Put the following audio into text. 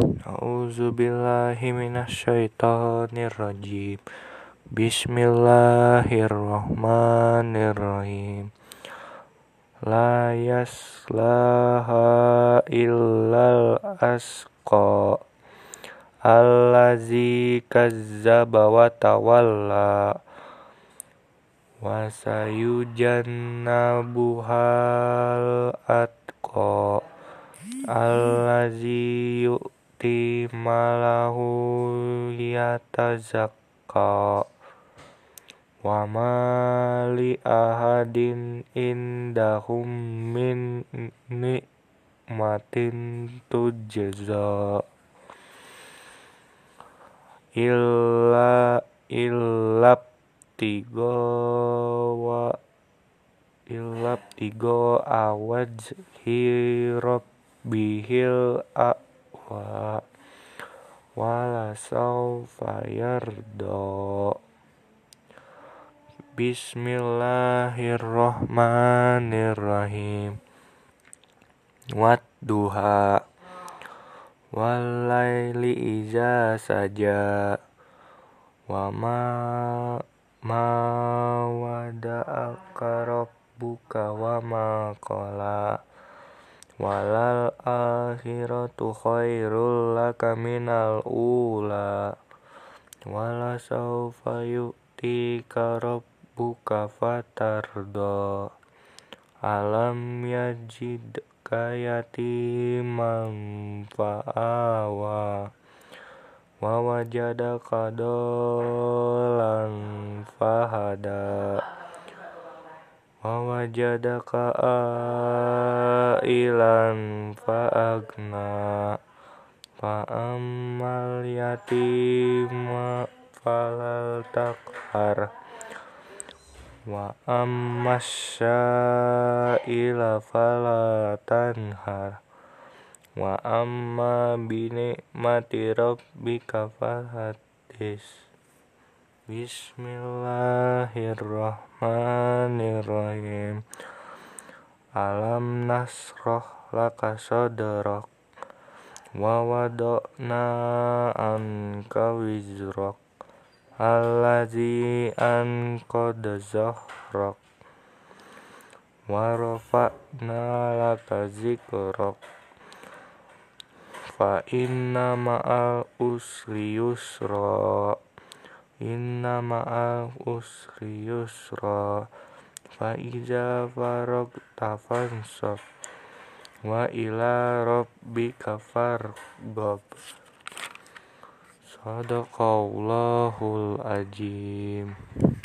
A'udzubillahi minasyaitonirrajim. Bismillahirrahmanirrahim. La yaslaha illal asqa allazi kazzaba wa tawalla wa sayujannabuhal atqa allazi yu'ti malahu yatazakka wa ma li ahadin indahum min ni'matin tujza illab tigo awajhi rabbihil a'wa wala sawfa yarda. Bismillahirrahmanirrahim. Wadduha walaili iza saja wa ma wada'aka rabbuka wa ma qala walal akhiratu khairul laka minal ula wala sawfa yu'tika rabbuka fatarda alam yajidka yatiman fa'awa wa wajadaka dolan fahada wa wajadaka ailan fa'agna fa'ammal yatima falal taqhar wa ammas sa'ila fala tanhar wa amma binikmati rabbika fahaddits. Bismillahirrahmanirrahim. Alam nashrah laka sadrak wa wada'na anka wizrak allazi anqadha zahrak wa rafa'na laka zikrak fa inna ma'al usri yusra fa iza faragta fansab wa ila rabbika farghab. Shadaqallahul azim.